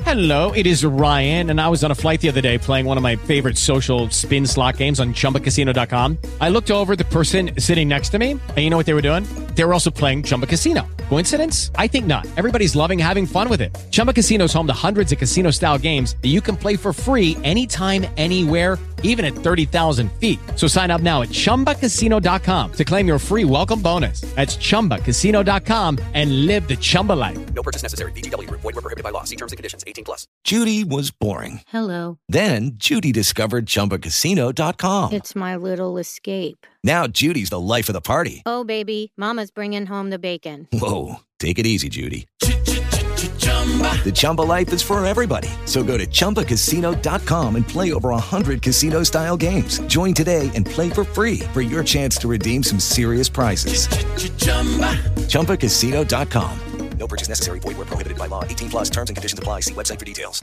Hello, it is Ryan, and I was on a flight the other day playing one of my favorite social spin slot games on ChumbaCasino.com. I looked over at the person sitting next to me, and you know what they were doing? They were also playing Chumba Casino. Coincidence? I think not. Everybody's loving having fun with it. Chumba Casino is home to hundreds of casino-style games that you can play for free anytime, anywhere, even at 30,000 feet. So sign up now at ChumbaCasino.com to claim your free welcome bonus. That's ChumbaCasino.com and live the Chumba life. No purchase necessary. VGW. Void were prohibited by law. See terms and conditions. 18+. Judy was boring. Hello. Then Judy discovered ChumbaCasino.com. It's my little escape. Now Judy's the life of the party. Oh, baby, mama's bringing home the bacon. Whoa, take it easy, Judy. The Chumba life is for everybody. So go to ChumbaCasino.com and play over 100 casino-style games. Join today and play for free for your chance to redeem some serious prizes. ChumbaCasino.com. No purchase necessary. Void were prohibited by law. 18+. Terms and conditions apply. See website for details.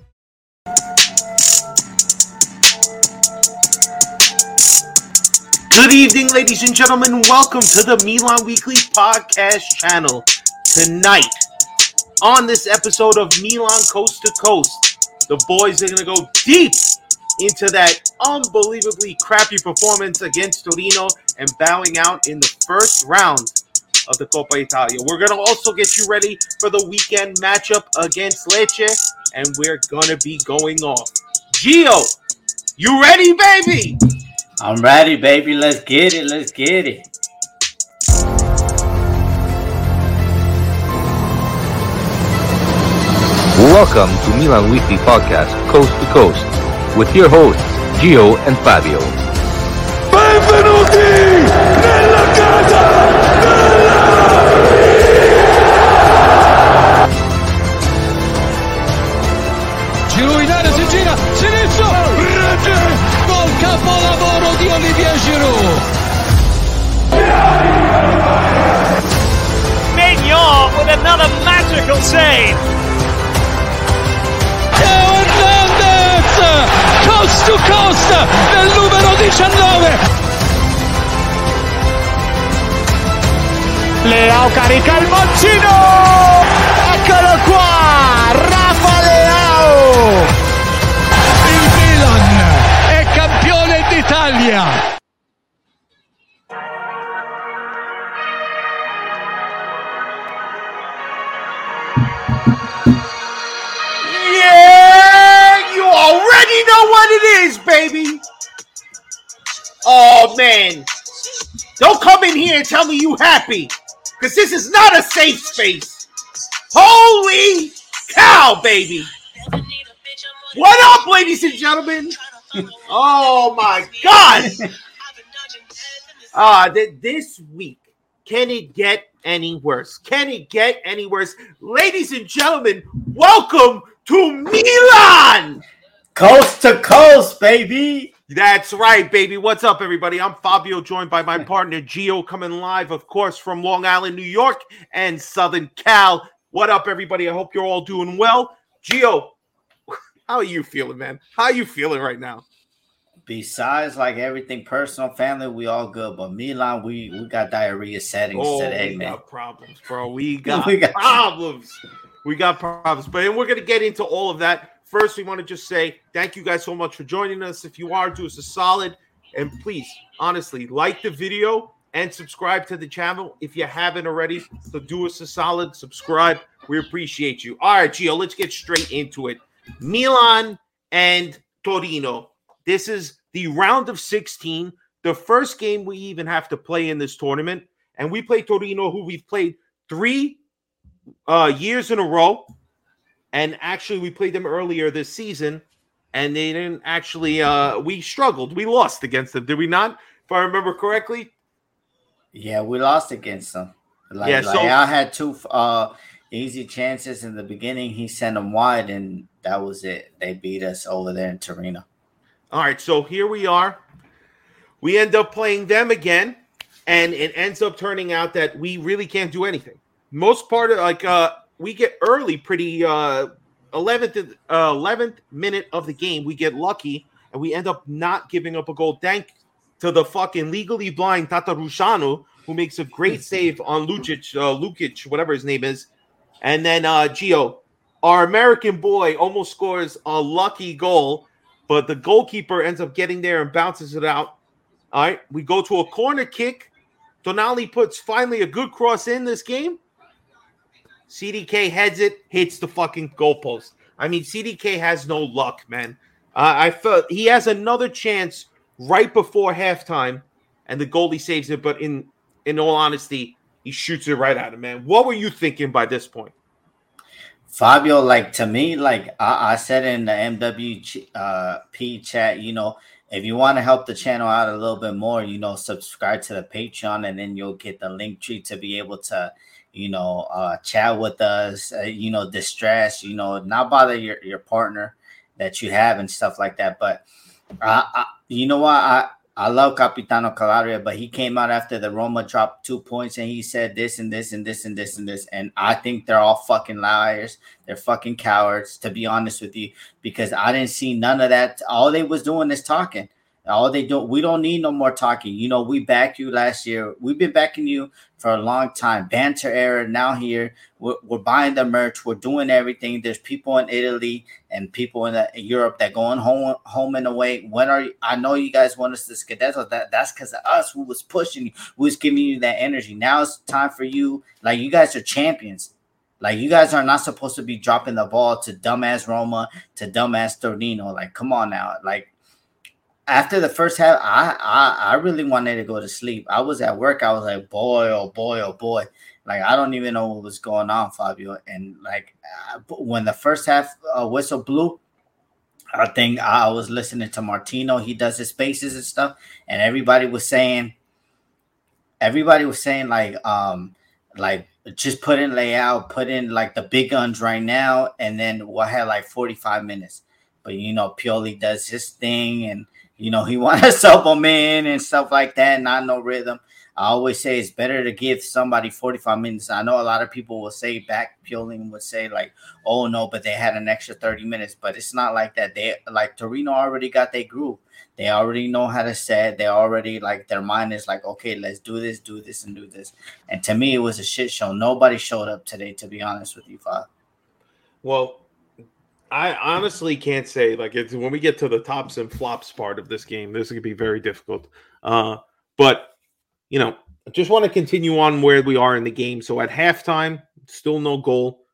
Good evening, ladies and gentlemen. Welcome to the Milan Weekly Podcast channel. Tonight, on this episode of Milan Coast to Coast, the boys are going to go deep into that unbelievably crappy performance against Torino and bowing out in the first round of the Coppa Italia. We're going to also get you ready for the weekend matchup against Lecce, and we're going to be going off. Gio, you ready, baby? I'm ready, baby. Let's get it. Let's get it. Welcome to Milan Weekly Podcast, Coast to Coast, with your hosts, Gio and Fabio. Benvenuti nella casa Giro in area, si gira, sinistro, rete, gol capolavoro di Olivier Giroud. Mignon with another magical save. Teo Hernandez, coast to coast, nel numero 19. Leao carica il mancino. Eccolo qua, Rafa Leao. Il Milan è campione d'Italia. Yeah, you already know what it is, baby. Oh, man. Don't come in here and tell me you happy, because this is not a safe space. Holy cow, baby. What up, ladies and gentlemen? Oh, my God. This week, can it get any worse? Can it get any worse? Ladies and gentlemen, welcome to Milan! Coast to coast, baby. That's right, baby. What's up, everybody? I'm Fabio, joined by my partner, Gio, coming live, of course, from Long Island, New York, and Southern Cal. What up, everybody? I hope you're all doing well. Gio, how are you feeling, man? How are you feeling right now? Besides, like everything personal, family, we all good. But Milan, we got diarrhea settings today, man. We got problems, bro. We got problems. We got problems. But we're going to get into all of that. First, we want to just say thank you guys so much for joining us. If you are, do us a solid. And please, honestly, like the video and subscribe to the channel if you haven't already. So do us a solid, subscribe. We appreciate you. All right, Gio, let's get straight into it. Milan and Torino. This is the round of 16, the first game we even have to play in this tournament. And we play Torino, who we've played 3 years in a row. And actually, we played them earlier this season, and they didn't actually we struggled. We lost against them, did we not? If I remember correctly. Yeah, we lost against them. I had 2 easy chances in the beginning. He sent them wide, and that was it. They beat us over there in Torino. All right, so here we are. We end up playing them again, and it ends up turning out that we really can't do anything. Most part of, we get early pretty 11th minute of the game. We get lucky, and we end up not giving up a goal. Thank to the fucking legally blind Tata Rusciano, who makes a great save on Lukic, whatever his name is. And then, Gio, our American boy almost scores a lucky goal, but the goalkeeper ends up getting there and bounces it out. All right, we go to a corner kick. Tonali puts finally a good cross in this game. CDK heads it, hits the fucking goalpost. I mean, CDK has no luck, man. I felt he has another chance right before halftime, and the goalie saves it. But in all honesty, he shoots it right at him, man. What were you thinking by this point? Fabio, like, to me, like I said in the MWP chat, you know, if you want to help the channel out a little bit more, you know, subscribe to the Patreon, and then you'll get the link tree to be able to, you know, chat with us, you know, distress, you know, not bother your partner that you have and stuff like that. But you know what? I love Capitano Calabria, but he came out after the Roma dropped 2 points and he said this and this and this and this and this. And I think they're all fucking liars. They're fucking cowards, to be honest with you, because I didn't see none of that. All they was doing is talking. All they do, we don't need no more talking. You know, we backed you last year. We've been backing you for a long time. Banter era, now here. We're buying the merch. We're doing everything. There's people in Italy and people in Europe that going home and away. When are you? I know you guys want us to Scudetto. That's because of us who was pushing you, who was giving you that energy. Now it's time for you. Like, you guys are champions. Like, you guys are not supposed to be dropping the ball to dumbass Roma, to dumbass Torino. Like, come on now. Like, after the first half, I really wanted to go to sleep. I was at work. I was like, boy, oh boy, oh boy. Like, I don't even know what was going on, Fabio. And like, when the first half whistle blew, I think I was listening to Martino. He does his spaces and stuff, and everybody was saying like just put in layout, put in like the big guns right now, and then we'll have like 45 minutes. But you know, Pioli does his thing, and you know, he wants to sub them in and stuff like that, not no rhythm. I always say it's better to give somebody 45 minutes. I know a lot of people will say back, Pioli would say like, oh no, but they had an extra 30 minutes. But it's not like that. They like Torino already got their groove. They already know how to set. They already like their mind is like, okay, let's do this, and do this. And to me, it was a shit show. Nobody showed up today, to be honest with you, Fab. Well, I honestly can't say, like, it's when we get to the tops and flops part of this game, this is going to be very difficult. But, you know, I just want to continue on where we are in the game. So at halftime, still no goal.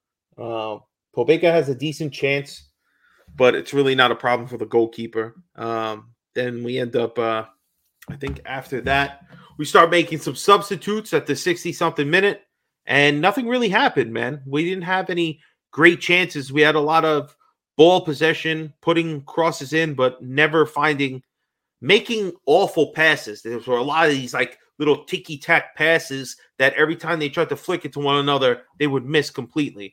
Pobega has a decent chance, but it's really not a problem for the goalkeeper. Then we end up, I think after that, we start making some substitutes at the 60-something minute, and nothing really happened, man. We didn't have any great chances. We had a lot of ball possession, putting crosses in, but never making awful passes. There were a lot of these like little ticky-tack passes that every time they tried to flick it to one another, they would miss completely.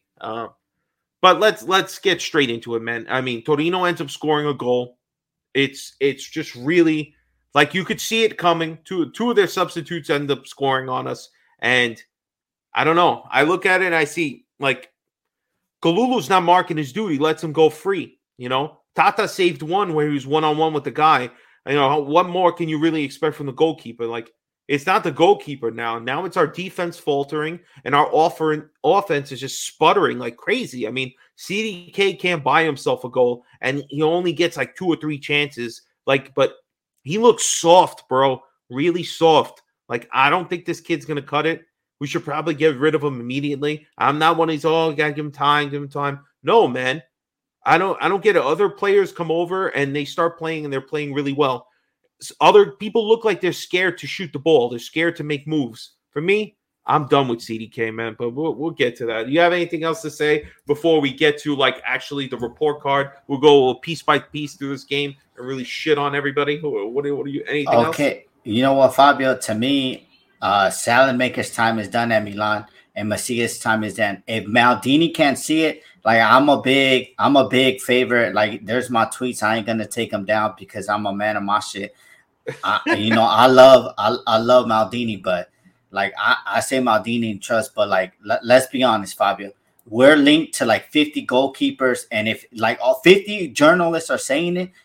But let's get straight into it, man. I mean, Torino ends up scoring a goal. It's just really like you could see it coming. Two of their substitutes end up scoring on us, and I don't know. I look at it and I see like Kalulu's not marking his duty, lets him go free. You know, Tata saved one where he was one-on-one with the guy. You know, what more can you really expect from the goalkeeper? Like, it's not the goalkeeper now. Now it's our defense faltering, and our offense is just sputtering like crazy. I mean, CDK can't buy himself a goal, and he only gets like 2 or 3 chances. Like, but he looks soft, bro. Really soft. Like, I don't think this kid's going to cut it. We should probably get rid of him immediately. I'm not one of these, oh, gotta give him time. No, man. I don't get it. Other players come over and they start playing and they're playing really well. Other people look like they're scared to shoot the ball. They're scared to make moves. For me, I'm done with CDK, man, but we'll get to that. Do you have anything else to say before we get to like actually the report card? We'll go piece by piece through this game and really shit on everybody. What do you anything else? Okay. You know what, Fabio, to me, Salad-Maker's time is done at Milan, and Macias' time is done. If Maldini can't see it, like I'm a big favorite. Like, there's my tweets. I ain't gonna take them down because I'm a man of my shit. I love Maldini, but like I say Maldini and trust, but like let's be honest, Fabio. We're linked to like 50 goalkeepers, and if like all 50 journalists are saying it,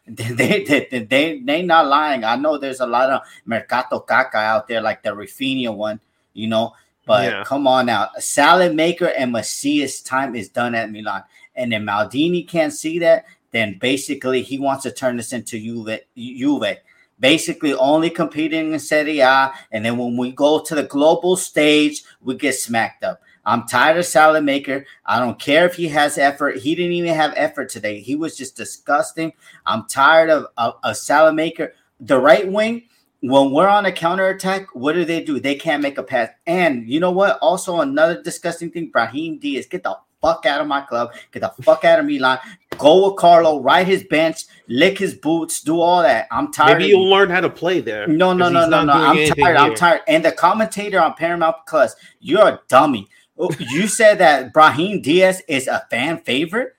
they not lying. I know there's a lot of Mercato Caca out there, like the Rafinha one, you know. But Come on now, Salad-Maker and Macias' time is done at Milan. And then Maldini can't see that. Then basically he wants to turn this into Juve. Basically only competing in Serie A. And then when we go to the global stage, we get smacked up. I'm tired of Salamaker. I don't care if he has effort. He didn't even have effort today. He was just disgusting. I'm tired of Salamaker. The right wing, when we're on a counterattack, what do? They can't make a pass. And you know what? Also another disgusting thing, Brahim Diaz, get the fuck out of my club. Get the fuck out of Milan. Go with Carlo, ride his bench, lick his boots, do all that. I'm tired. Maybe you'll learn how to play there. No. I'm tired. And the commentator on Paramount Plus, you're a dummy. You said that Brahim Diaz is a fan favorite.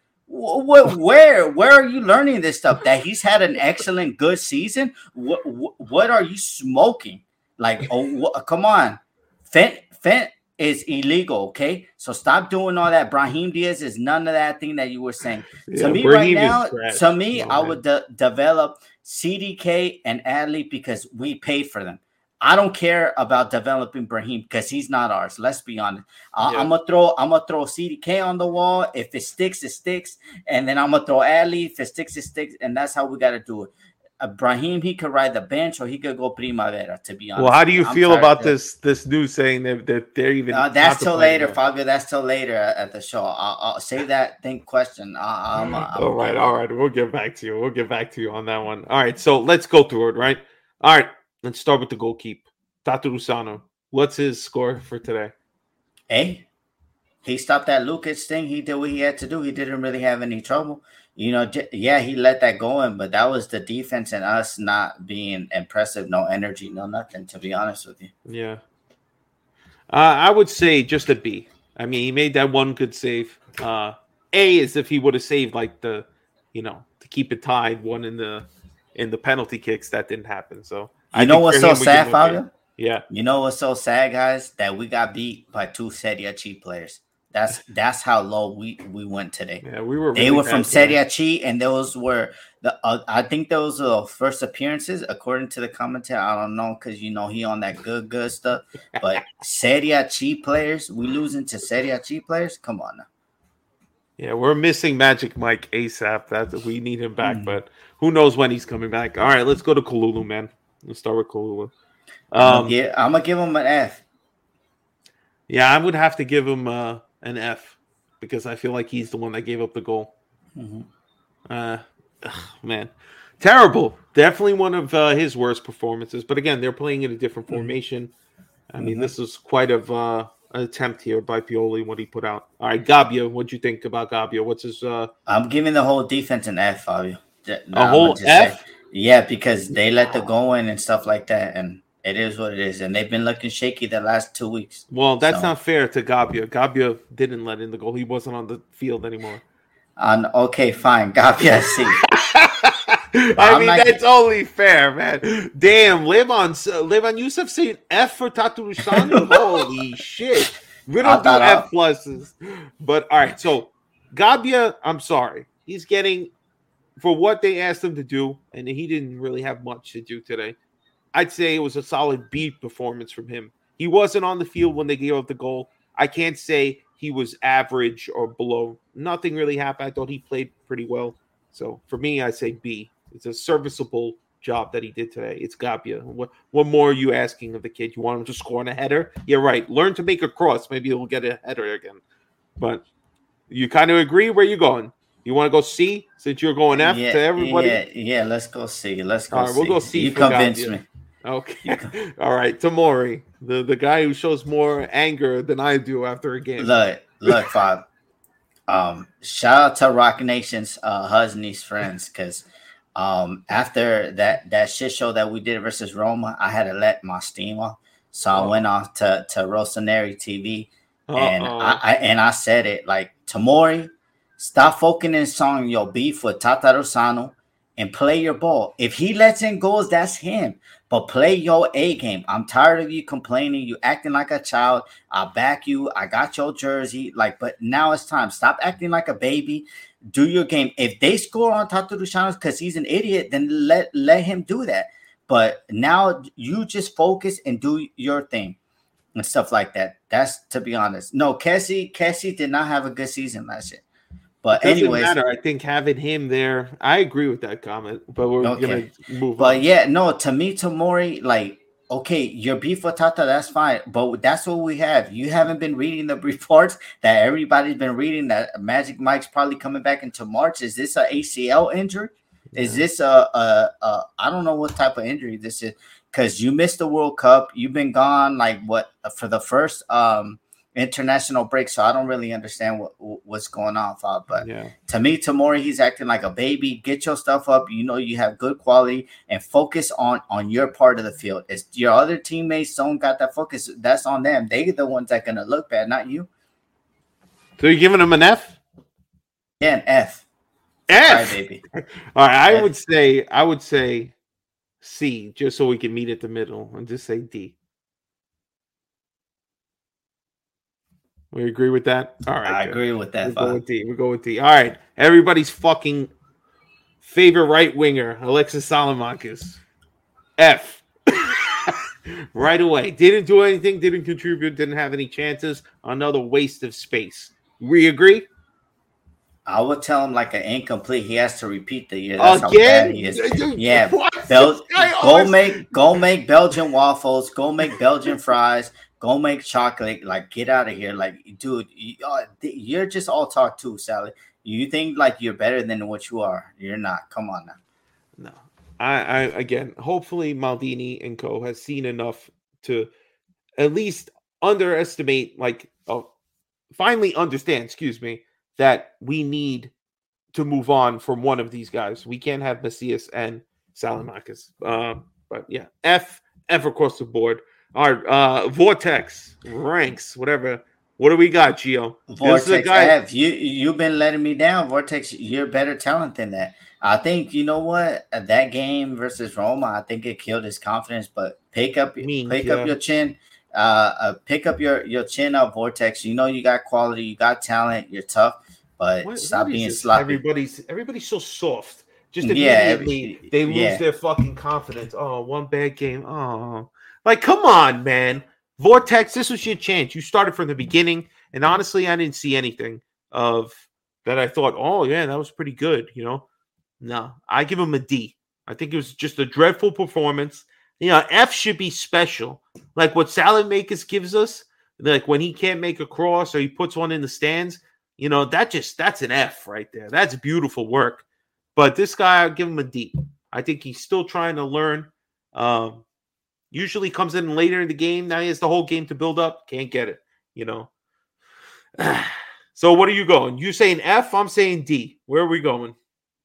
Where are you learning this stuff? That he's had an excellent, good season? What are you smoking? Like, come on. Fent is illegal, okay? So stop doing all that. Brahim Diaz is none of that thing that you were saying. To me right now, I would develop CDK and Adley because we paid for them. I don't care about developing Brahim because he's not ours. Let's be honest. I'm gonna throw CDK on the wall. If it sticks, it sticks. And then I'm gonna throw Adley. If it sticks, it sticks. And that's how we gotta do it. Brahim, he could ride the bench or he could go Primavera, to be honest. Well, how do you feel about this news saying that they're even that's till later, Fabio. That's till later at the show. I'll save that question. All right. We'll get back to you on that one. All right, so let's go through it, right? All right. Let's start with the goalkeeper, Tatarusanu. What's his score for today? He stopped that Lukic thing. He did what he had to do. He didn't really have any trouble. He let that go in, but that was the defense and us not being impressive. No energy, no nothing, to be honest with you. Yeah. I would say just a B. I mean, he made that one good save. A is if he would have saved to keep it tied, one in the penalty kicks. That didn't happen, so. You know what's so sad, Fabio? Yeah. You know what's so sad, guys? That we got beat by two Serie C players. That's how low we went today. Yeah, we were. They were from Serie C, and those were I think those were the first appearances, according to the commentator. I don't know because he on that good stuff. But Serie C players, we losing to Serie C players. Come on now. Yeah, we're missing Magic Mike ASAP. That we need him back, but who knows when he's coming back? All right, let's go to Kalulu, man. Let's start with Kalulu. I'm gonna give him an F. Yeah, I would have to give him an F because I feel like he's the one that gave up the goal. Man, terrible. Definitely one of his worst performances. But again, they're playing in a different formation. I mean, this is quite of an attempt here by Pioli, what he put out. All right, Gabbia, what'd you think about Gabbia? What's his? I'm giving the whole defense an F, Fabio. A whole F? Yeah, because they let the go in and stuff like that, and it is what it is. And they've been looking shaky the last 2 weeks. Well, that's not fair to Gabbia. Gabbia didn't let in the goal. He wasn't on the field anymore. Okay, fine. Gabbia, see. I mean, that's only fair, man. Damn, Levan Youssef saying F for Tatarusanu? Holy shit. We don't do F pluses. But, all right, so Gabbia, I'm sorry. He's getting... For what they asked him to do, and he didn't really have much to do today, I'd say it was a solid B performance from him. He wasn't on the field when they gave up the goal. I can't say he was average or below. Nothing really happened. I thought he played pretty well. So for me, I say B. It's a serviceable job that he did today. It's Gabbia. What more are you asking of the kid? You want him to score on a header? Yeah, right. Learn to make a cross. Maybe he'll get a header again. But you kind of agree? Where you going? You want to go C since you're going F to everybody? Yeah, let's go C. Let's go All right, C. We'll go C. You convinced me. Okay. All right, Tomori, the guy who shows more anger than I do after a game. Look, Fab. Shout out to Rock Nation's Husney's friends because after that shit show that we did versus Roma, I had to let my steam off. So I went off to Rossoneri TV and I said it like, Tomori, stop focusing on your beef with Tatarusanu and play your ball. If he lets in goals, that's him. But play your A game. I'm tired of you complaining. You acting like a child. I back you. I got your jersey. But now it's time. Stop acting like a baby. Do your game. If they score on Tatarusanu because he's an idiot, then let him do that. But now you just focus and do your thing and stuff like that. That's, to be honest. No, Kessie did not have a good season last year. But it doesn't anyways, matter. I think having him there, I agree with that comment. But we're gonna move on. But yeah, no, to me, Tamori, like, okay, your beef with Tata, that's fine. But that's what we have. You haven't been reading the reports that everybody's been reading that Magic Mike's probably coming back into March. Is this an ACL injury? Is this I don't know what type of injury this is, because you missed the World Cup. You've been gone like what for the first international break, so I don't really understand what's going on, Fab. But to me, Tamori, he's acting like a baby. Get your stuff up. You know you have good quality, and focus on your part of the field. If your other teammates don't got that focus, that's on them. They're the ones that are gonna look bad, not you. So you're giving him an F? Yeah, an F. F, sorry, baby. All right, F. I would say C, just so we can meet at the middle, and just say D. We agree with that? All right. I agree with that. We'll go with D. All right. Everybody's fucking favorite right winger, Alexis Salamakis. F. Right away. Didn't do anything, didn't contribute, didn't have any chances. Another waste of space. We agree? I would tell him like an incomplete. He has to repeat the year. That's again? How bad he is. Yeah. Go make Belgian waffles. Go make Belgian fries. Go make chocolate. Like, get out of here. Like, dude, you're just all talk too, Sally. You think like you're better than what you are. You're not. Come on now. No. I again, hopefully Maldini and co has seen enough to at least underestimate, finally understand, that we need to move on from one of these guys. We can't have Macias and Salamakis. But yeah, F across the board. All right, Vortex ranks, whatever. What do we got, Gio? Vortex F. You've been letting me down. Vortex, you're better talent than that. I think, you know what? That game versus Roma, I think it killed his confidence. But pick up your chin. Pick up your chin up, Vortex. You know you got quality, you got talent, you're tough, but stop being sloppy. Everybody's so soft. Just immediately they lose their fucking confidence. Oh, one bad game. Oh, like, come on, man. Vortex, this was your chance. You started from the beginning, and honestly, I didn't see anything of that. I thought, oh yeah, that was pretty good. You know, no, I give him a D. I think it was just a dreadful performance. You know, F should be special, like what Salamakis gives us. Like when he can't make a cross or he puts one in the stands. You know, that's an F right there. That's beautiful work. But this guy, I'll give him a D. I think he's still trying to learn. Usually comes in later in the game. Now he has the whole game to build up. Can't get it, you know. So what are you going? You saying F? I'm saying D. Where are we going?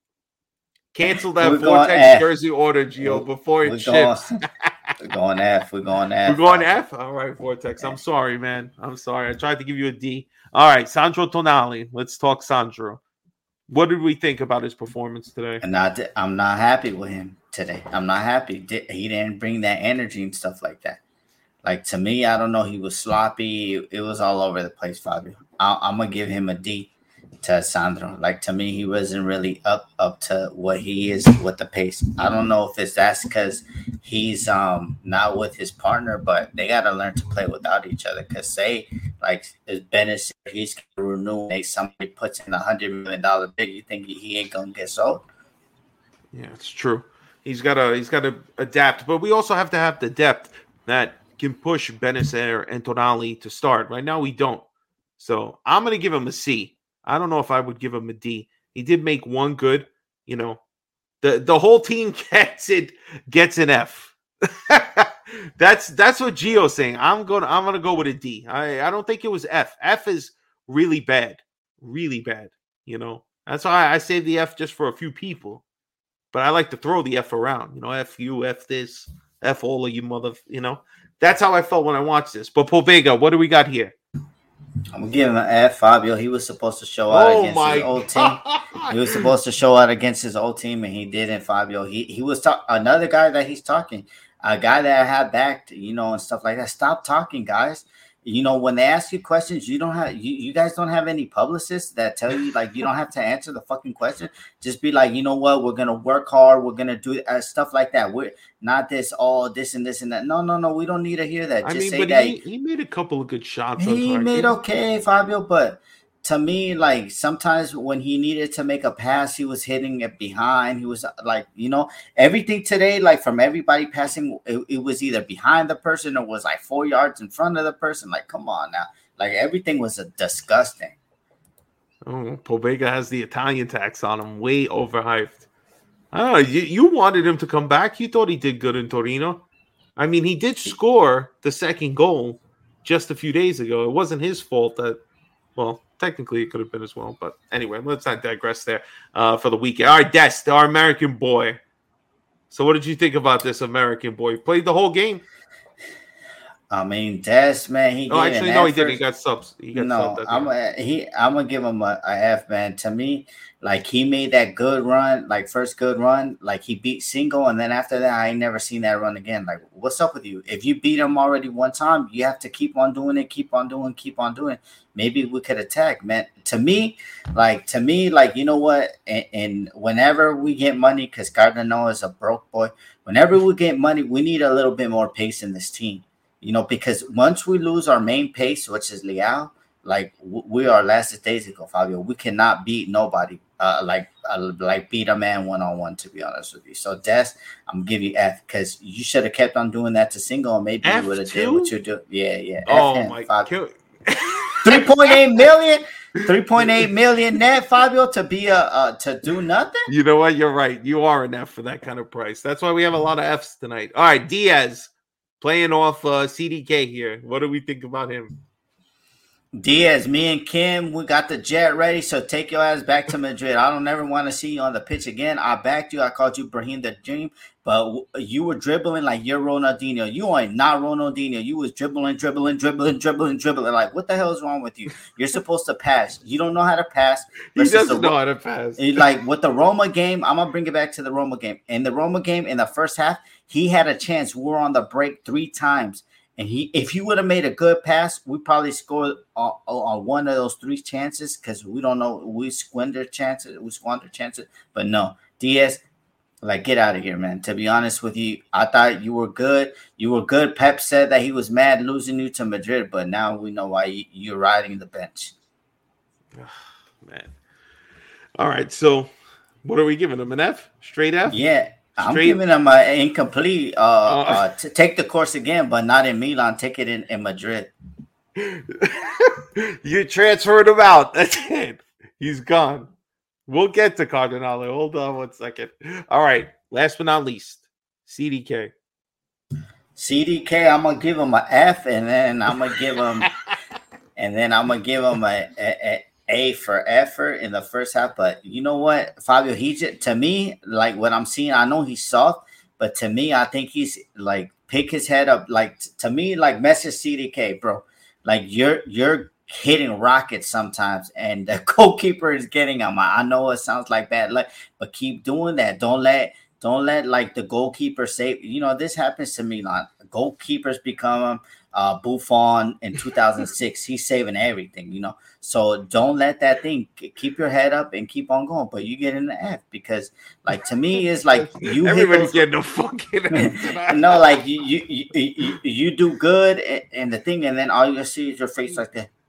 Cancel that Vortex jersey order, Gio, before it ships. We're going F. We're going F. We're going F? All right, Vortex. I'm sorry, man. I'm sorry. I tried to give you a D. All right, Sandro Tonali. Let's talk Sandro. What did we think about his performance today? I'm not happy with him today. I'm not happy. He didn't bring that energy and stuff like that. Like, to me, I don't know. He was sloppy. It was all over the place, Fabio. I'm going to give him a D to Sandro. Like, to me, he wasn't really up to what he is with the pace. I don't know if that's because he's not with his partner, but they got to learn to play without each other. Because say, like, Benes, he's going to renew, and somebody puts in $100 million bid, you think he ain't going to get sold? Yeah, it's true. He's got to adapt. But we also have to have the depth that can push Benacer and Tonali to start. Right now, we don't. So I'm going to give him a C. I don't know if I would give him a D. He did make one good, you know. The whole team gets an F. That's what Gio's saying. I'm gonna go with a D. I don't think it was F. F is really bad. Really bad. You know. That's why I saved the F just for a few people. But I like to throw the F around. You know, F you, F this, F all of you you know. That's how I felt when I watched this. But Pobega, what do we got here? I'm gonna give him an F. Fabio, he was supposed to show out against his old team. He was supposed to show out against his old team, and he didn't. Fabio, he was another guy that he's talking, a guy that I had backed, you know, and stuff like that. Stop talking, guys. You know, when they ask you questions, you guys don't have any publicists that tell you, like, you don't have to answer the fucking question. Just be like, you know what, we're gonna work hard, we're gonna do stuff like that. We're not this and this and that. No, we don't need to hear that. Just say that he made a couple of good shots. He made okay, Fabio, but to me, like sometimes when he needed to make a pass, he was hitting it behind. He was like, everything today, like from everybody passing, it was either behind the person or was like 4 yards in front of the person. Like, come on now. Like everything was disgusting. Oh, Pobega has the Italian tax on him, way overhyped. I don't know. You wanted him to come back. You thought he did good in Torino. I mean, he did score the second goal just a few days ago. It wasn't his fault that, well, technically it could have been as well. But anyway, let's not digress there for the weekend. All right, Des, our American boy. So what did you think about this American boy? He played the whole game. I mean, Des, man, he didn't. He got subs. I'm gonna give him a F, man. To me, like he made that good run, like first good run, like he beat Single, and then after that, I ain't never seen that run again. Like, what's up with you? If you beat him already one time, you have to keep on doing it, keep on doing. Maybe we could attack, man. To me, like you know what? And whenever we get money, because Cardinal is a broke boy. Whenever we get money, we need a little bit more pace in this team. Because once we lose our main pace, which is Leao, like we are last days ago, Fabio. We cannot beat nobody, like beat a man 1-on-1. To be honest with you, so Des, I'm gonna give you F because you should have kept on doing that to Single, and maybe you would have did what you do. Yeah. Oh my God. 3.8 million. 3.8 million net, Fabio, to be to do nothing. You know what? You're right. You are an F for that kind of price. That's why we have a lot of Fs tonight. All right, Diaz. Playing off CDK here. What do we think about him? Diaz, me and Kim, we got the jet ready, so take your ass back to Madrid. I don't ever want to see you on the pitch again. I backed you. I called you Brahim the Dream, but you were dribbling like you're Ronaldinho. You are not Ronaldinho. You was dribbling. Like, what the hell is wrong with you? You're supposed to pass. You don't know how to pass. He doesn't know how to pass. Like, with the Roma game, I'm going to bring it back to the Roma game. In the Roma game, in the first half, he had a chance. We were on the break 3 times. And if he would have made a good pass, we probably scored on one of those 3 chances because we don't know. We squander chances. But no, Diaz, like, get out of here, man. To be honest with you, I thought you were good. Pep said that he was mad losing you to Madrid, but now we know why you're riding the bench. Man. All right, so what are we giving him? An F? Straight F? Yeah. I'm giving him an incomplete. To take the course again, but not in Milan. Take it in Madrid. You transferred him out. That's it. He's gone. We'll get to Cardinale. Hold on 1 second. All right. Last but not least, CDK. I'm gonna give him an F, and then I'm gonna give him A for effort in the first half. But you know what, Fabio, to me, like what I'm seeing, I know he's soft, but to me, I think he's like pick his head up. Like to me, like message CDK, bro. Like you're hitting rockets sometimes, and the goalkeeper is getting him. I know it sounds like bad luck, but keep doing that. Don't let like the goalkeeper save. This happens to Milan. Goalkeepers become Buffon in 2006. He's saving everything, So don't let that thing. Keep your head up and keep on going. But you get in the F because, like, to me, it's like you. Everybody's getting a fucking F. No, like you do good and the thing, and then all you see is your face like that.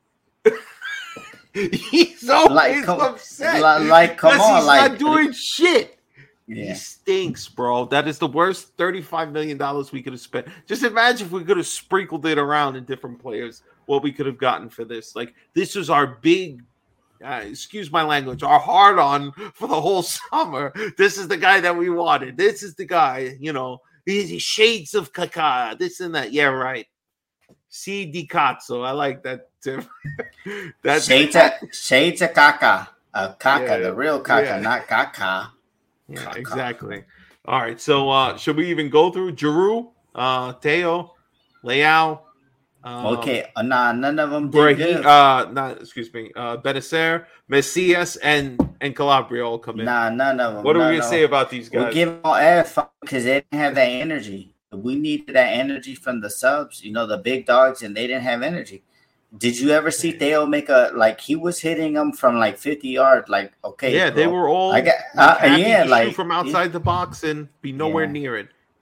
He's always upset. Come on, he's not doing shit. Yeah. He stinks, bro. That is the worst $35 million we could have spent. Just imagine if we could have sprinkled it around in different players, what we could have gotten for this. Like, this was our big, excuse my language, our hard-on for the whole summer. This is the guy that we wanted. This is the guy, he's shades of Kaká, this and that. Yeah, right. C. Di Cazzo. I like that, Tim. Shades of Kaká. Kaká, the real Kaká, not Kaká. Yeah, exactly. All right, so should we even go through Giroud, Teo, Leao? Okay, none of them did good. Benacer, Messias, and Calabria all come in. None of them. What are we gonna say about these guys? We give them all F because they didn't have that energy. We needed that energy from the subs, the big dogs, and they didn't have energy. Did you ever see Theo make he was hitting them from 50 yards? Like, okay, yeah, bro. They were all shoot from outside the box and be nowhere near it.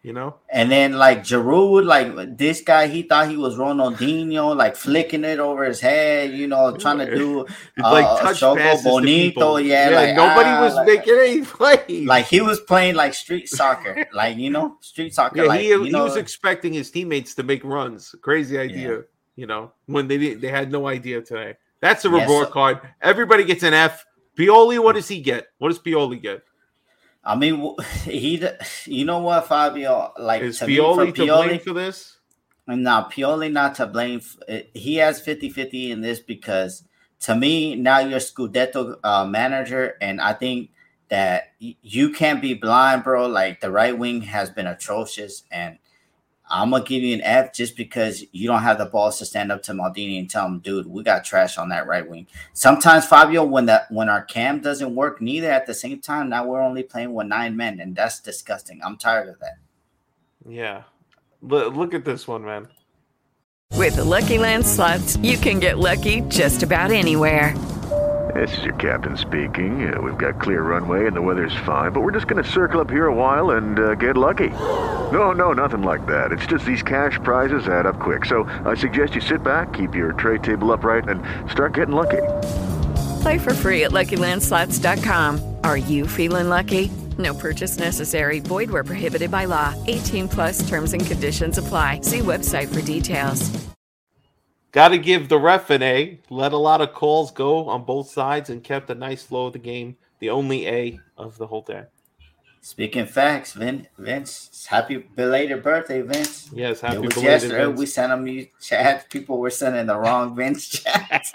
you know. And then like Giroud, like this guy, he thought he was Ronaldinho, like flicking it over his head, you know, trying to do like touch passes bonito. Yeah, like nobody was making any plays. Like he was playing like street soccer, like street soccer. Yeah, like, he was expecting his teammates to make runs. Crazy idea, you know, when they had no idea today. That's a report card. Everybody gets an F. Pioli, what does he get? What does Pioli get? I mean, you know what, Fabio? Like, is Pioli to blame for this? No, Pioli not to blame. He has 50-50 in this because, to me, now you're Scudetto manager, and I think that you can't be blind, bro. Like, the right wing has been atrocious, and I'm going to give you an F just because you don't have the balls to stand up to Maldini and tell him, dude, we got trash on that right wing. Sometimes, Fabio, when our cam doesn't work neither at the same time, now we're only playing with 9 men, and that's disgusting. I'm tired of that. Yeah. Look at this one, man. With the Lucky Land Slots, you can get lucky just about anywhere. This is your captain speaking. We've got clear runway and the weather's fine, but we're just going to circle up here a while and get lucky. No, nothing like that. It's just these cash prizes add up quick. So I suggest you sit back, keep your tray table upright, and start getting lucky. Play for free at LuckyLandSlots.com. Are you feeling lucky? No purchase necessary. Void where prohibited by law. 18+ terms and conditions apply. See website for details. Got to give the ref an A. Let a lot of calls go on both sides and kept a nice flow of the game. The only A of the whole day. Speaking facts, Vince, happy belated birthday, Vince. Yes, happy belated yesterday. Vince. We sent him you chat. People were sending the wrong Vince chat.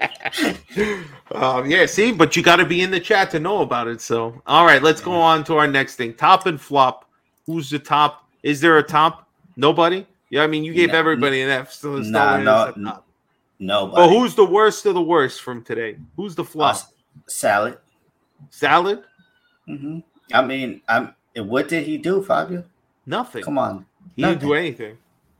Yeah, see, but you got to be in the chat to know about it. So, all right, let's go on to our next thing. Top and flop. Who's the top? Is there a top? Nobody? Yeah, I mean, you gave everybody an F. So there's Nobody. But who's the worst of the worst from today? Who's the flop? Salad. Salad? Mm-hmm. I mean, what did he do, Fabio? Nothing. Come on. He didn't do anything.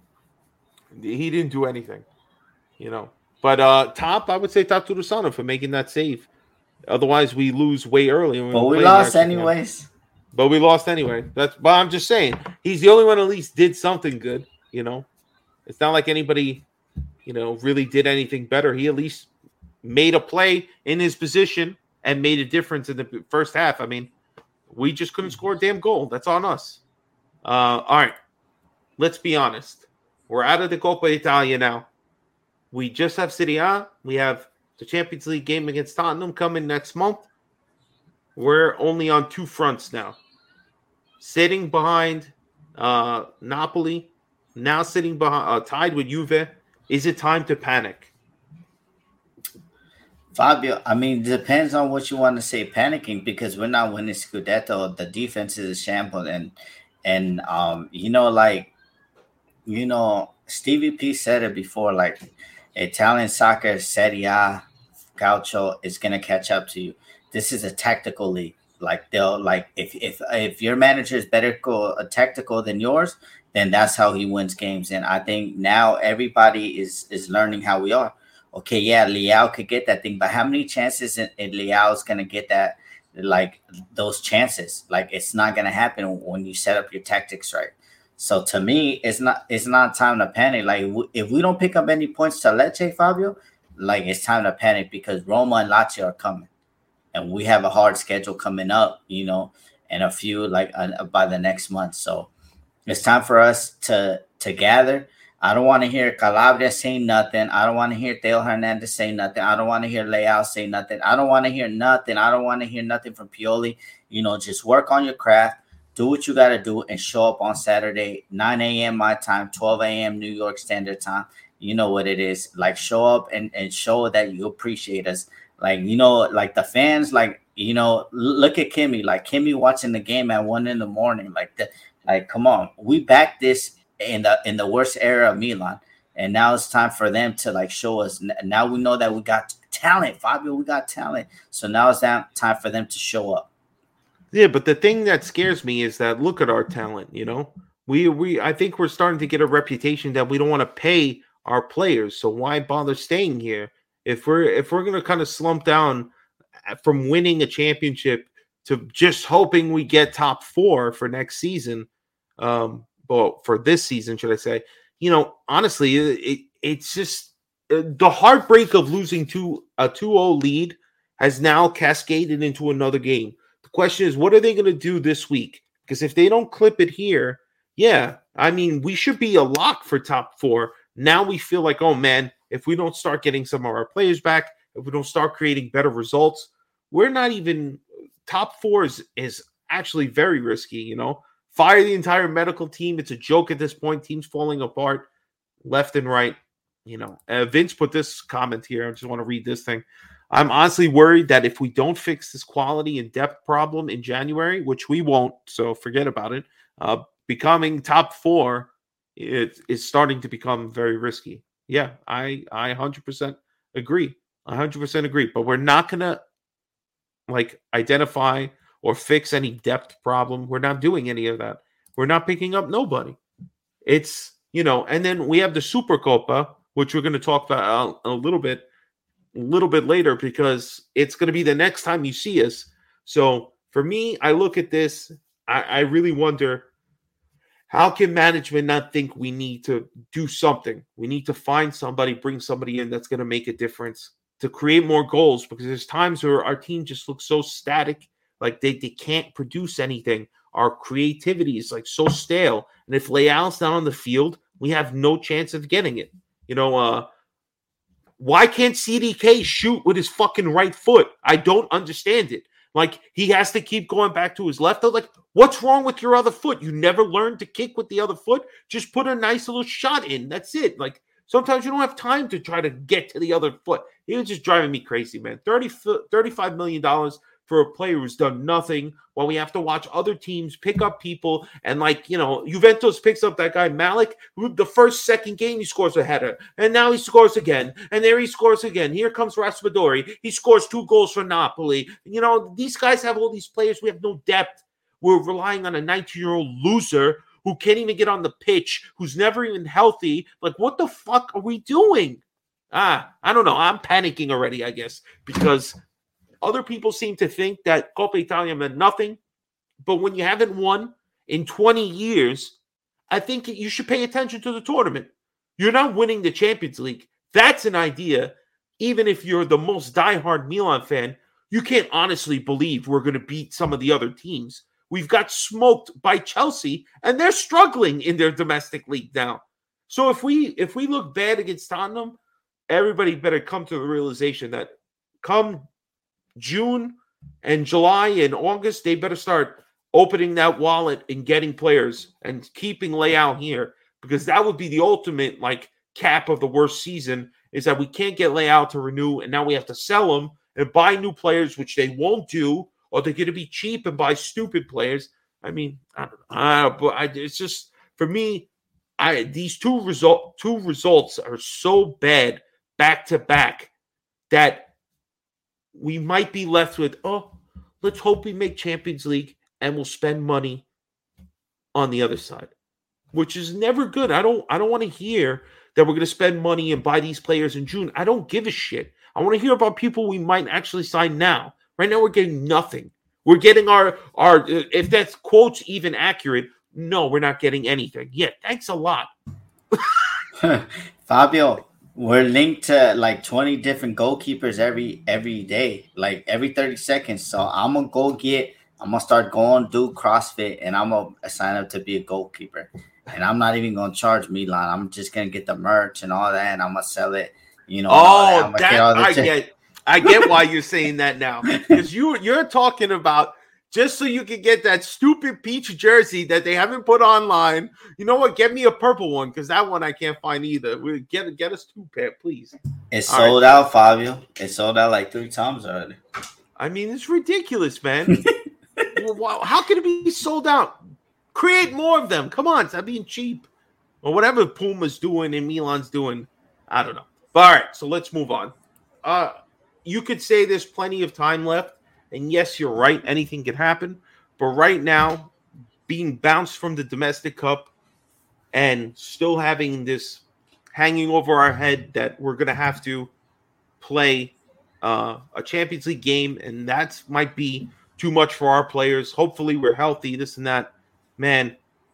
He didn't do anything, you know. But top, I would say top to Rusano for making that save. Otherwise, we lose way early. But we lost anyways. But we lost anyway. But I'm just saying, he's the only one at least did something good, you know. It's not like anybody, you know, really did anything better. He at least made a play in his position and made a difference in the first half. I mean, we just couldn't score a damn goal. That's on us. All right. Let's be honest. We're out of the Coppa Italia now. We just have Serie A. We have the Champions League game against Tottenham coming next month. We're only on 2 fronts now. Sitting behind Napoli. Now sitting behind, tied with Juve. Is it time to panic? Fabio, I mean, it depends on what you want to say panicking, because we're not winning Scudetto. The defense is a shambles. And Stevie P said it before, like, Italian soccer, Serie A, Calcio is going to catch up to you. This is a tactical league. Like, they'll, like, if your manager is better tactical than yours, then that's how he wins games. And I think now everybody is learning how we are. Okay, yeah, Leao could get that thing, but how many chances in Leao is going to get that, like, those chances? Like, it's not going to happen when you set up your tactics right. So to me, it's not time to panic. Like, if we don't pick up any points to Lecce, Fabio, like, it's time to panic, because Roma and Lazio are coming. And we have a hard schedule coming up, you know, and a few, like, by the next month. So it's time for us to gather. I don't want to hear Calabria say nothing. I don't want to hear Theo Hernandez say nothing. I don't want to hear Leao say nothing. I don't want to hear nothing. I don't want to hear nothing from Pioli. You know, just work on your craft. Do what you got to do and show up on Saturday, 9 a.m. my time, 12 a.m. New York Standard Time. You know what it is. Like, show up and show that you appreciate us. Like, you know, like the fans, like, you know, look at Kimmy. Like, Kimmy watching the game at 1 a.m. Like, come on. We backed this in the worst era of Milan, and now it's time for them to, like, show us. Now we know that we got talent, Fabio. We got talent. So now it's time for them to show up. Yeah, but the thing that scares me is that look at our talent. You know, I think we're starting to get a reputation that we don't want to pay our players. So why bother staying here if we're going to kind of slump down from winning a championship to just hoping we get top 4 for next season? but for this season, should I say, honestly, it's just the heartbreak of losing a 2-0 lead has now cascaded into another game. The question is, what are they going to do this week? Because if they don't clip it here, we should be a lock for top 4. Now we feel like, oh man, if we don't start getting some of our players back, if we don't start creating better results, we're not even top 4 is actually very risky, Fire the entire medical team. It's a joke at this point. Teams falling apart left and right. Vince put this comment here. I just want to read this thing. I'm honestly worried that if we don't fix this quality and depth problem in January, which we won't, so forget about it, becoming top 4 is starting to become very risky. Yeah, I 100% agree. 100% agree. But we're not going to identify or fix any depth problem. We're not doing any of that. We're not picking up nobody. It's, and then we have the Supercopa, which we're going to talk about a little bit later, because it's going to be the next time you see us. So for me, I look at this, I really wonder, how can management not think we need to do something? We need to find somebody, bring somebody in that's going to make a difference, to create more goals, because there's times where our team just looks so static, like they can't produce anything. Our creativity is so stale. And if Leal's not on the field, we have no chance of getting it. Why can't CDK shoot with his fucking right foot? I don't understand it. He has to keep going back to his left. What's wrong with your other foot? You never learned to kick with the other foot? Just put a nice little shot in. That's it. Sometimes you don't have time to try to get to the other foot. He was just driving me crazy, man. $35 million for a player who's done nothing, while we have to watch other teams pick up people. And Juventus picks up that guy Malik, who the second game he scores a header, and now he scores again, and there he scores again. Here comes Raspadori. He scores 2 goals for Napoli. These guys have all these players. We have no depth. We're relying on a 19-year-old loser who can't even get on the pitch, who's never even healthy. What the fuck are we doing? I don't know. I'm panicking already, I guess, because other people seem to think that Coppa Italia meant nothing. But when you haven't won in 20 years, I think you should pay attention to the tournament. You're not winning the Champions League. That's an idea. Even if you're the most diehard Milan fan, you can't honestly believe we're going to beat some of the other teams. We've got smoked by Chelsea, and they're struggling in their domestic league now. So if we look bad against Tottenham, everybody better come to the realization that come June and July and August, they better start opening that wallet and getting players and keeping Leao here, because that would be the ultimate cap of the worst season, is that we can't get Leao to renew, and now we have to sell him and buy new players, which they won't do, or they're going to be cheap and buy stupid players. I mean, I don't know. But it's just, for me, these two results are so bad back to back that we might be left with, let's hope we make Champions League and we'll spend money on the other side, which is never good. I don't want to hear that we're going to spend money and buy these players in June. I don't give a shit. I want to hear about people we might actually sign now. Right now, we're getting nothing. We're getting our if that quote's even accurate, no, we're not getting anything. Yeah, thanks a lot. Fabio, we're linked to 20 different goalkeepers every day, every 30 seconds. So I'm going to start going, do CrossFit, and I'm going to sign up to be a goalkeeper. And I'm not even going to charge Milan. I'm just going to get the merch and all that, and I'm going to sell it. I get why you're saying that now, because you're talking about just so you can get that stupid peach jersey that they haven't put online. You know what? Get me a purple one, because that one I can't find either. Get us 2 pair, please. It's sold out, Fabio. It's sold out 3 times already. I mean, it's ridiculous, man. How can it be sold out? Create more of them. Come on, stop being cheap. Or whatever Puma's doing and Milan's doing. I don't know. But all right, so let's move on. You could say there's plenty of time left, and yes, you're right. Anything could happen. But right now, being bounced from the domestic cup and still having this hanging over our head that we're going to have to play a Champions League game, and that might be too much for our players. Hopefully we're healthy, this and that. Man,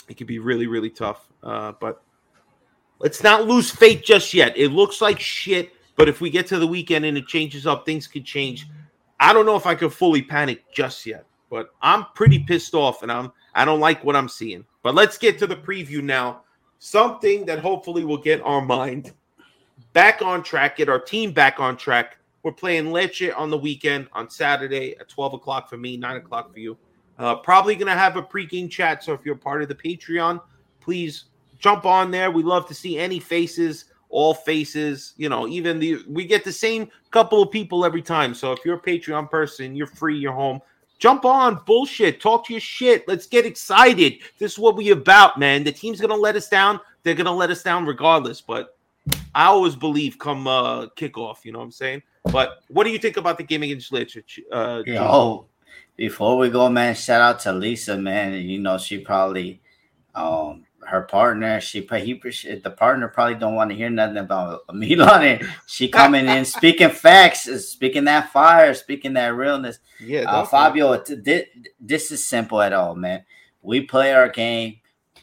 It could be really, really tough. But let's not lose faith just yet. It looks like shit, but if we get to the weekend and it changes up, things could change. I don't know if I could fully panic just yet, but I'm pretty pissed off, and I don't like what I'm seeing. But let's get to the preview now. Something that hopefully will get our mind back on track, get our team back on track. We're playing Lecce on the weekend on Saturday at 12 o'clock for me, 9 o'clock for you. Probably going to have a pregame chat, so if you're part of the Patreon, please jump on there. We love to see any faces, all faces. You know, we get the same couple of people every time. So if you're a Patreon person, you're free, you're home. Jump on, bullshit, talk your shit. Let's get excited. This is what we about, man. The team's going to let us down. They're going to let us down regardless. But I always believe come kickoff, you know what I'm saying? But what do you think about the game against Lecce? Before we go, man, shout out to Lisa, man. You know, she probably, her partner, the partner probably don't want to hear nothing about Milan. And she coming in, speaking facts, speaking that fire, speaking that realness. Yeah, Fabio, this is simple at all, man. We play our game.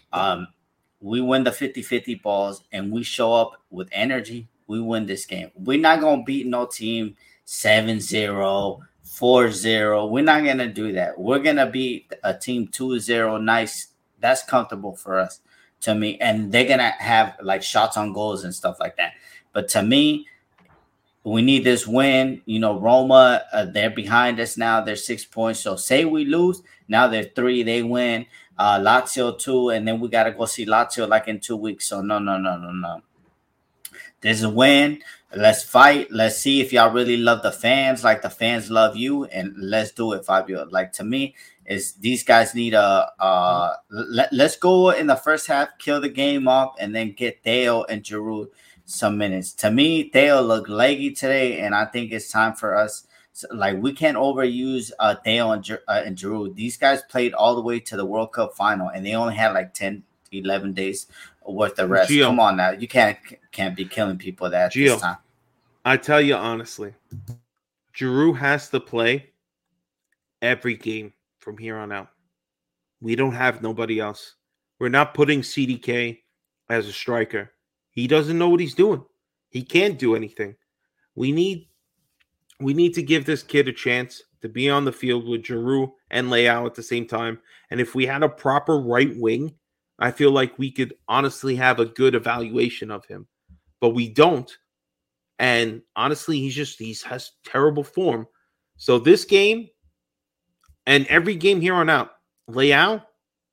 We win the 50-50 balls, and we show up with energy. We win this game. We're not going to beat no team 7-0. 4-0. We're not going to do that. We're going to beat a team 2-0. Nice. That's comfortable for us, to me. And they're going to have like shots on goals and stuff like that. But to me, we need this win. You know, Roma, they're behind us now. They're 6 points. So say we lose, now they're 3. They win. Lazio 2. And then we got to go see Lazio like in 2 weeks. So no. There's a win. Let's fight. Let's see if y'all really love the fans like the fans love you, and let's do it, Fabio. Like, to me, is these guys need let's go in the first half, kill the game off, and then get Theo and Giroud some minutes. To me, Theo looked leggy today, and I think it's time for us. Like, we can't overuse Theo and Giroud. These guys played all the way to the World Cup final, and they only had like 10, 11 days worth of rest. Come on now. You can't be killing people this time. I tell you honestly, Giroud has to play every game from here on out. We don't have nobody else. We're not putting CDK as a striker. He doesn't know what he's doing. He can't do anything. We need to give this kid a chance to be on the field with Giroud and Leao at the same time. And if we had a proper right wing, I feel like we could honestly have a good evaluation of him. But we don't. And honestly, he has terrible form. So this game and every game here on out, Leao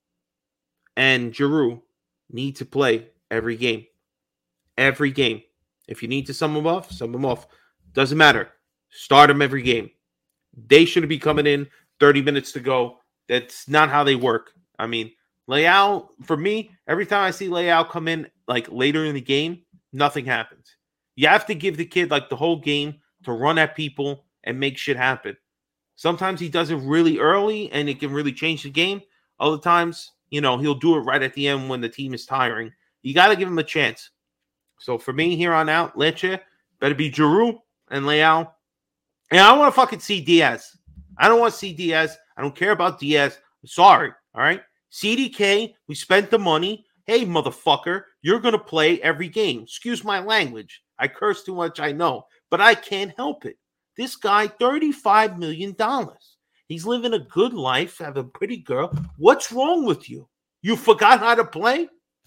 and Giroud need to play every game. Every game. If you need to sum them off. Doesn't matter. Start them every game. They shouldn't be coming in 30 minutes to go. That's not how they work. I mean, Leao, for me, every time I see Leao come in like later in the game, nothing happens. You have to give the kid like the whole game to run at people and make shit happen. Sometimes he does it really early and it can really change the game. Other times, you know, he'll do it right at the end when the team is tiring. You got to give him a chance. So for me here on out, Lecce better be Giroud and Leao. And I want to fucking see Diaz. I don't want to see Diaz. I don't care about Diaz. I'm sorry. All right. CDK, we spent the money. Hey, motherfucker, you're going to play every game. Excuse my language. I curse too much, I know, but I can't help it. This guy, $35 million. He's living a good life, have a pretty girl. What's wrong with you? You forgot how to play?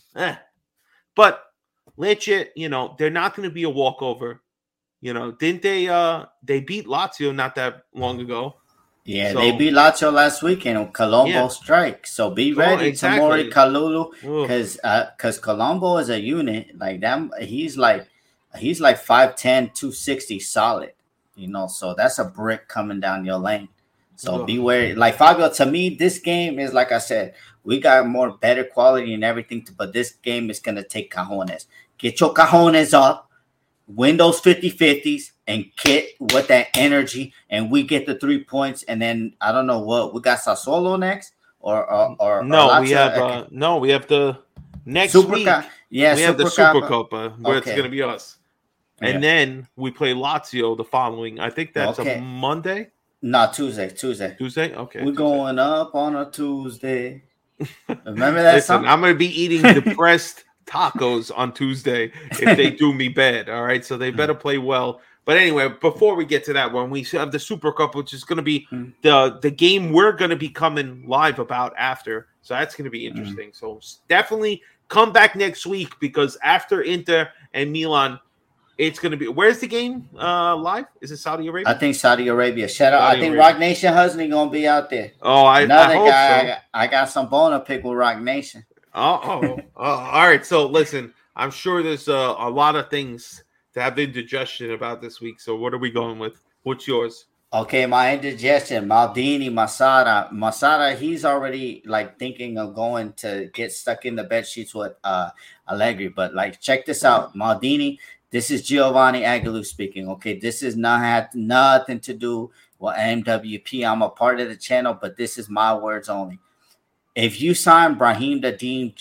But Lecce, you know, they're not going to be a walkover. You know, didn't they beat Lazio not that long ago? Yeah, so, they beat Lazio last weekend on Colombo strike. So be ready, Tamori Kalulu, because Colombo is a unit like that. He's like 5'10", 260 solid. You know, so that's a brick coming down your lane. So be wary. Like Fabio, to me, this game is like I said, we got more better quality and everything, but this game is gonna take cojones. Get your cojones up, win those 50-50s, and get with that energy, and we get the 3 points. And then I don't know what we got Sassuolo next, or no, we have the next week. We have the Supercoppa where it's gonna be us. And then we play Lazio the following. I think that's a Monday. No, Tuesday. Tuesday? Okay. We're going up on a Tuesday. Remember that Listen, song? I'm going to be eating depressed tacos on Tuesday if they do me bad. All right, so they better play well. But anyway, before we get to that one, we have the Super Cup, which is going to be the game we're going to be coming live about after. So that's going to be interesting. So definitely come back next week, because after Inter and Milan, it's going to be – where's the game live? Is it Saudi Arabia? I think Saudi Arabia. Shout out. I think Rock Nation Husney going to be out there. Oh, I hope so. I got some bone to pick with Rock Nation. All right. So listen, I'm sure there's a lot of things to have indigestion about this week. So what are we going with? What's yours? Okay, my indigestion, Maldini, Masada, he's already like thinking of going to get stuck in the bed sheets with Allegri. But like, check this out, Maldini. This is Giovanni Aguilera speaking. Okay, this is nothing to do with MWP. I'm a part of the channel, but this is my words only. If you sign Brahim the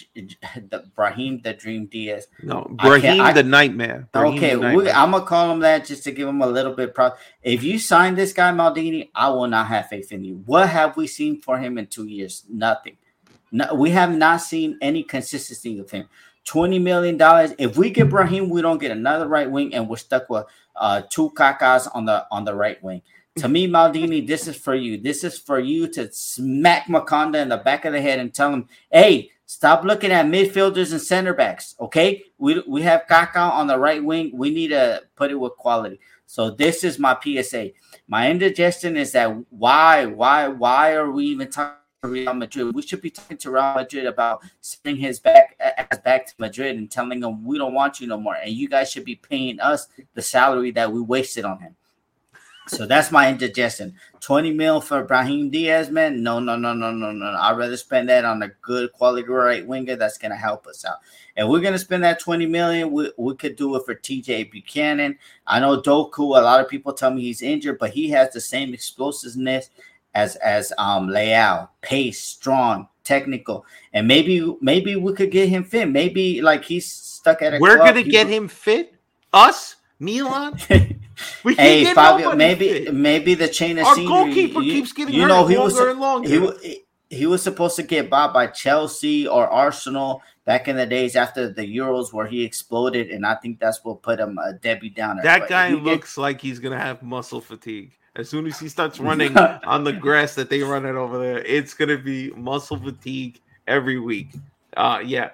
Dream Diaz, Brahim the Nightmare. I'm gonna call him that just to give him a little bit. If you sign this guy Maldini, I will not have faith in you. What have we seen for him in 2 years? Nothing. No, we have not seen any consistency with him. $20 million. If we get Brahim, we don't get another right wing, and we're stuck with two Kakas on the right wing. To me, Maldini, this is for you. This is for you to smack Makonda in the back of the head and tell him, hey, stop looking at midfielders and center backs, okay? We have Kaka on the right wing. We need to put it with quality. So this is my PSA. My indigestion is that why are we even talking to Real Madrid? We should be talking to Real Madrid about sending his back to Madrid and telling them we don't want you no more. And you guys should be paying us the salary that we wasted on him. So that's my indigestion. 20 mil for Brahim Diaz, man. No. I'd rather spend that on a good quality right winger that's going to help us out. If we're going to spend that 20 million, we could do it for TJ Buchanan. I know Doku, a lot of people tell me he's injured, but he has the same explosiveness as Leao. Pace, strong, technical. And maybe we could get him fit. Maybe like he's stuck at a We're going to get him fit? Us? Milan? Hey, Fabio, maybe the chain of scenery. Our goalkeeper keeps getting hurt longer and longer. He was supposed to get bought by Chelsea or Arsenal back in the days after the Euros where he exploded, and I think that's what put him a Debbie Downer. That guy looks like he's going to have muscle fatigue. As soon as he starts running on the grass that they run it over there, it's going to be muscle fatigue every week. Yeah.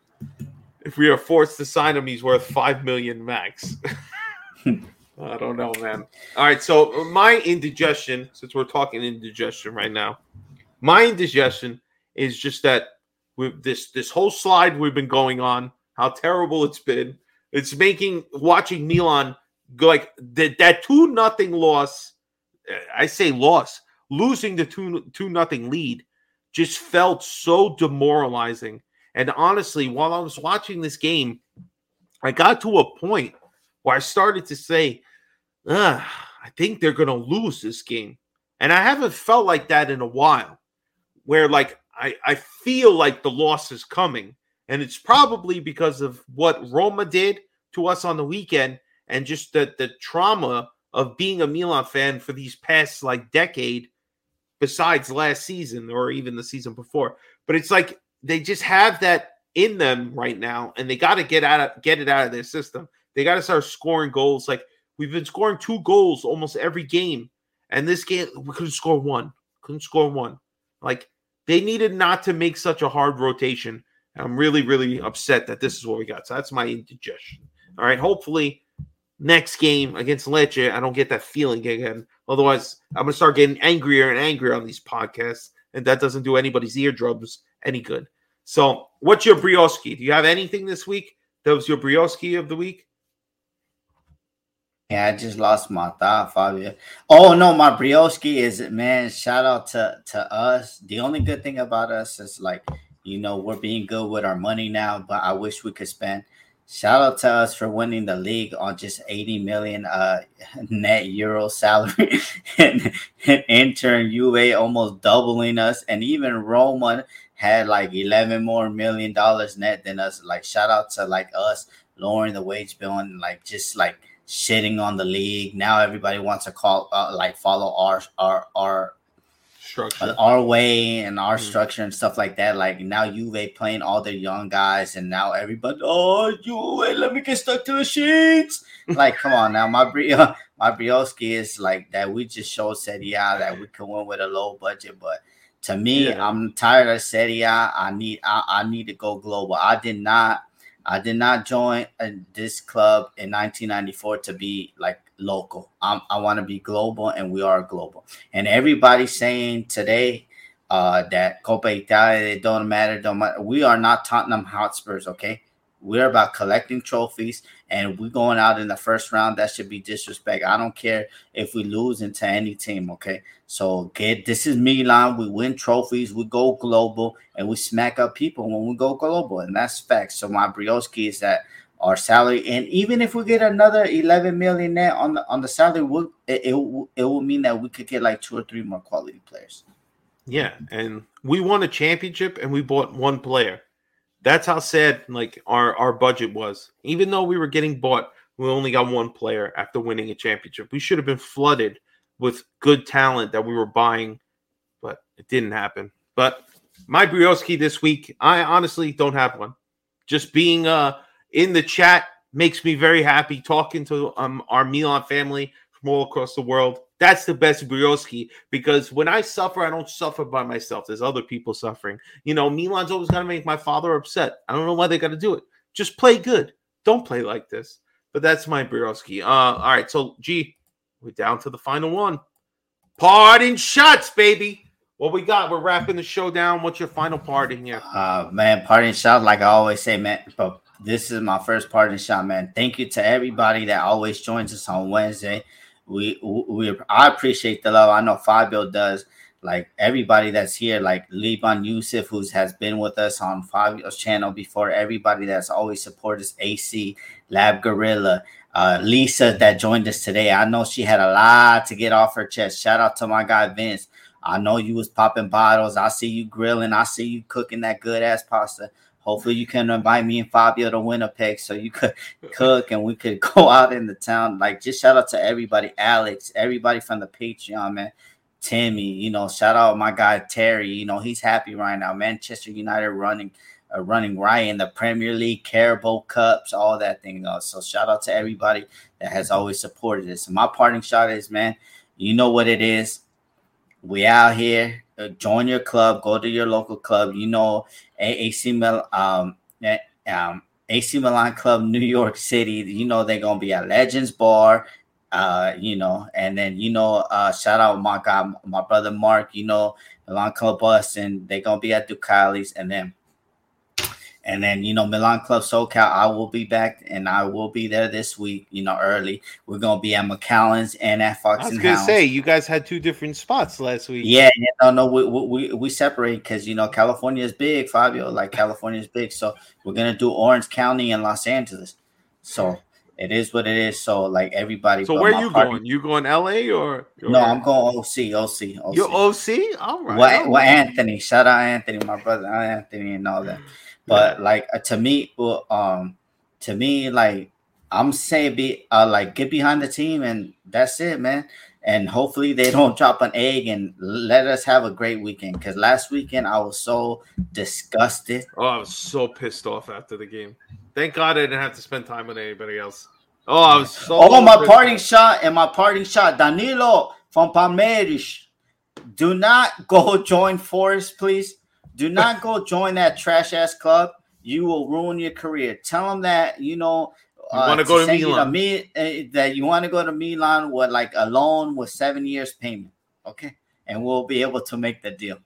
If we are forced to sign him, he's worth $5 million max. I don't know, man. All right, so my indigestion, since we're talking indigestion right now, my indigestion is just that with this whole slide we've been going on, how terrible it's been. It's making watching Milan go like that 2-0 loss. I say loss, losing the 2-0 lead just felt so demoralizing. And honestly, while I was watching this game, I got to a point where I started to say, I think they're going to lose this game. And I haven't felt like that in a while, where like I feel like the loss is coming. And it's probably because of what Roma did to us on the weekend and just the trauma of being a Milan fan for these past like decade, besides last season or even the season before. But it's like they just have that in them right now, and they got to get it out of their system. They got to start scoring goals. Like, we've been scoring 2 goals almost every game. And this game, we couldn't score one. Like, they needed not to make such a hard rotation. And I'm really, really upset that this is what we got. So that's my indigestion. All right, hopefully next game against Lecce, I don't get that feeling again. Otherwise, I'm going to start getting angrier and angrier on these podcasts. And that doesn't do anybody's eardrums any good. So what's your Brioski? Do you have anything this week that was your Brioski of the week? Yeah, I just lost my thought, Fabio. Oh, no, my Brioski is, man, shout out to us. The only good thing about us is, like, you know, we're being good with our money now, but I wish we could spend. Shout out to us for winning the league on just 80 million net euro salary. and Inter and Juve almost doubling us. And even Roma had like $11 more million net than us. Like, shout out to like us lowering the wage bill and like just like shitting on the league. Now everybody wants to follow our structure, our way and our structure and stuff like that. Like now Juve playing all their young guys, and now everybody, Juve, let me get stuck to the sheets. Like, come on now, my Brioski is like that. We just showed Serie A that we can win with a low budget, but to me, I'm tired of Serie A. I need to go global. I did not join this club in 1994 to be like local. I want to be global, and we are global. And everybody's saying today that Coppa Italia, it don't matter. We are not Tottenham Hotspurs, okay? We're about collecting trophies, and we're going out in the first round. That should be disrespect. I don't care if we lose into any team, okay? So this is Milan. We win trophies. We go global, and we smack up people when we go global, and that's facts. So my Brioski is that our salary, and even if we get another 11 million net on the salary, it will mean that we could get like 2 or 3 more quality players. Yeah, and we won a championship, and we bought one player. That's how sad like our budget was. Even though we were getting bought, we only got one player after winning a championship. We should have been flooded with good talent that we were buying, but it didn't happen. But my Brioski this week, I honestly don't have one. Just being in the chat makes me very happy, talking to our Milan family from all across the world. That's the best Brioski, because when I suffer, I don't suffer by myself. There's other people suffering. You know, Milan's always got to make my father upset. I don't know why they got to do it. Just play good. Don't play like this. But that's my Brioski. All right, so, G, we're down to the final one. Parting shots, baby. What we got? We're wrapping the show down. What's your final parting here? Man, parting shot, like I always say, man, but this is my first parting shot, man. Thank you to everybody that always joins us on Wednesday. I appreciate the love. I know Fabio does. Like everybody that's here, like Liban Yusuf, who has been with us on Fabio's channel before. Everybody that's always supported us, AC, Lab Gorilla, Lisa that joined us today. I know she had a lot to get off her chest. Shout out to my guy Vince. I know you was popping bottles. I see you grilling. I see you cooking that good ass pasta. Hopefully you can invite me and Fabio to Winnipeg so you could cook and we could go out in the town. Like, just shout out to everybody, Alex, everybody from the Patreon, man. Timmy, you know, shout out my guy Terry. You know, he's happy right now. Manchester United running right in the Premier League, Carabao Cups, all that thing. So shout out to everybody that has always supported us. And my parting shot is, man, you know what it is. We out here. Join your club. Go to your local club. You know, AC Milan Club, New York City. You know they're gonna be at Legends Bar. You know, and then shout out my guy, my brother Mark. You know, Milan Club Boston. They're gonna be at Ducali's, and then you know, Milan Club SoCal. I will be back, and I will be there this week. You know, early. We're gonna be at McAllen's and at Fox and Hounds. I was gonna say you guys had 2 different spots last week. Yeah, no, we separate because you know California is big, Fabio. Like California is big, so we're gonna do Orange County and Los Angeles. So it is what it is. So like everybody. So where are you going? You going LA or? No, I'm going OC. You're OC? All right. Well, Anthony, shout out Anthony, my brother Anthony, and all that. But like to me, like I'm saying, like get behind the team, and that's it, man. And hopefully they don't drop an egg, and let us have a great weekend. Because last weekend I was so disgusted. Oh, I was so pissed off after the game. Thank God I didn't have to spend time with anybody else. Oh, I was so. Oh, my parting shot, Danilo from Palmeiras. Do not go join Forest, please. Do not go join that trash ass club. You will ruin your career. Tell them that you want to go to Milan. That you want to go to Milan with like a loan with 7 years payment. Okay, and we'll be able to make the deal.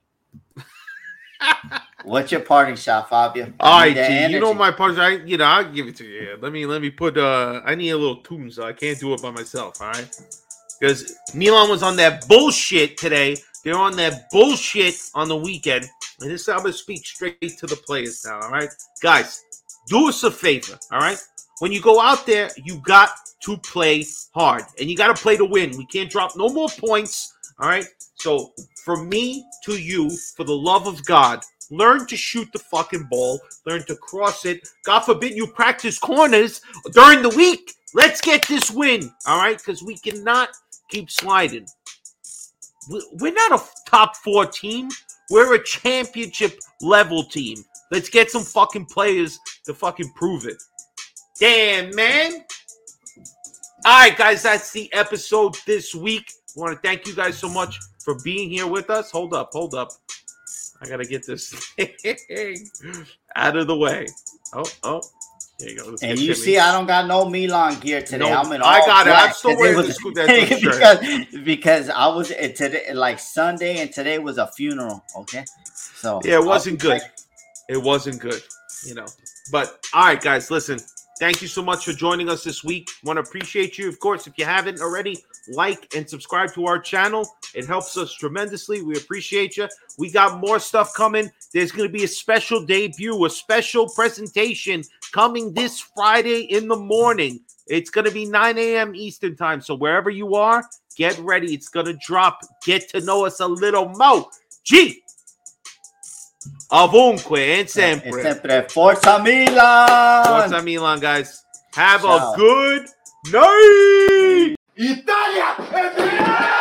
What's your parting shot, Fabio? All right, G, you know my parting shot. I'll give it to you. Here. Let me put. I need a little tune, so I can't do it by myself. All right, because Milan was on that bullshit today. They're on that bullshit on the weekend. And this I'm going to speak straight to the players now, all right? Guys, do us a favor, all right? When you go out there, you got to play hard. And you got to play to win. We can't drop no more points, all right? So, from me to you, for the love of God, learn to shoot the fucking ball. Learn to cross it. God forbid you practice corners during the week. Let's get this win, all right? Because we cannot keep sliding. we're not a top 4 team. We're a championship level team. Let's get some fucking players to fucking prove it. Damn, man. All right, guys, that's the episode this week. I want to thank you guys so much for being here with us. Hold up. I got to get this thing out of the way. Oh. There you go. And you see, I don't got no Milan gear today. No, I'm in all I got black. it. I'm still wearing this because I was today, like Sunday, and today was a funeral. Okay, so yeah, it wasn't good. It wasn't good, But all right, guys, listen. Thank you so much for joining us this week. Want to appreciate you, of course. If you haven't already, like and subscribe to our channel. It helps us tremendously. We appreciate you. We got more stuff coming. There's going to be a special debut, a special presentation coming this Friday in the morning. It's going to be 9 a.m. Eastern time. So wherever you are, get ready. It's going to drop. Get to know us a little more. G. Ovunque and sempre. Sempre. Forza Milan. Forza Milan, guys. Have a good night. Italia!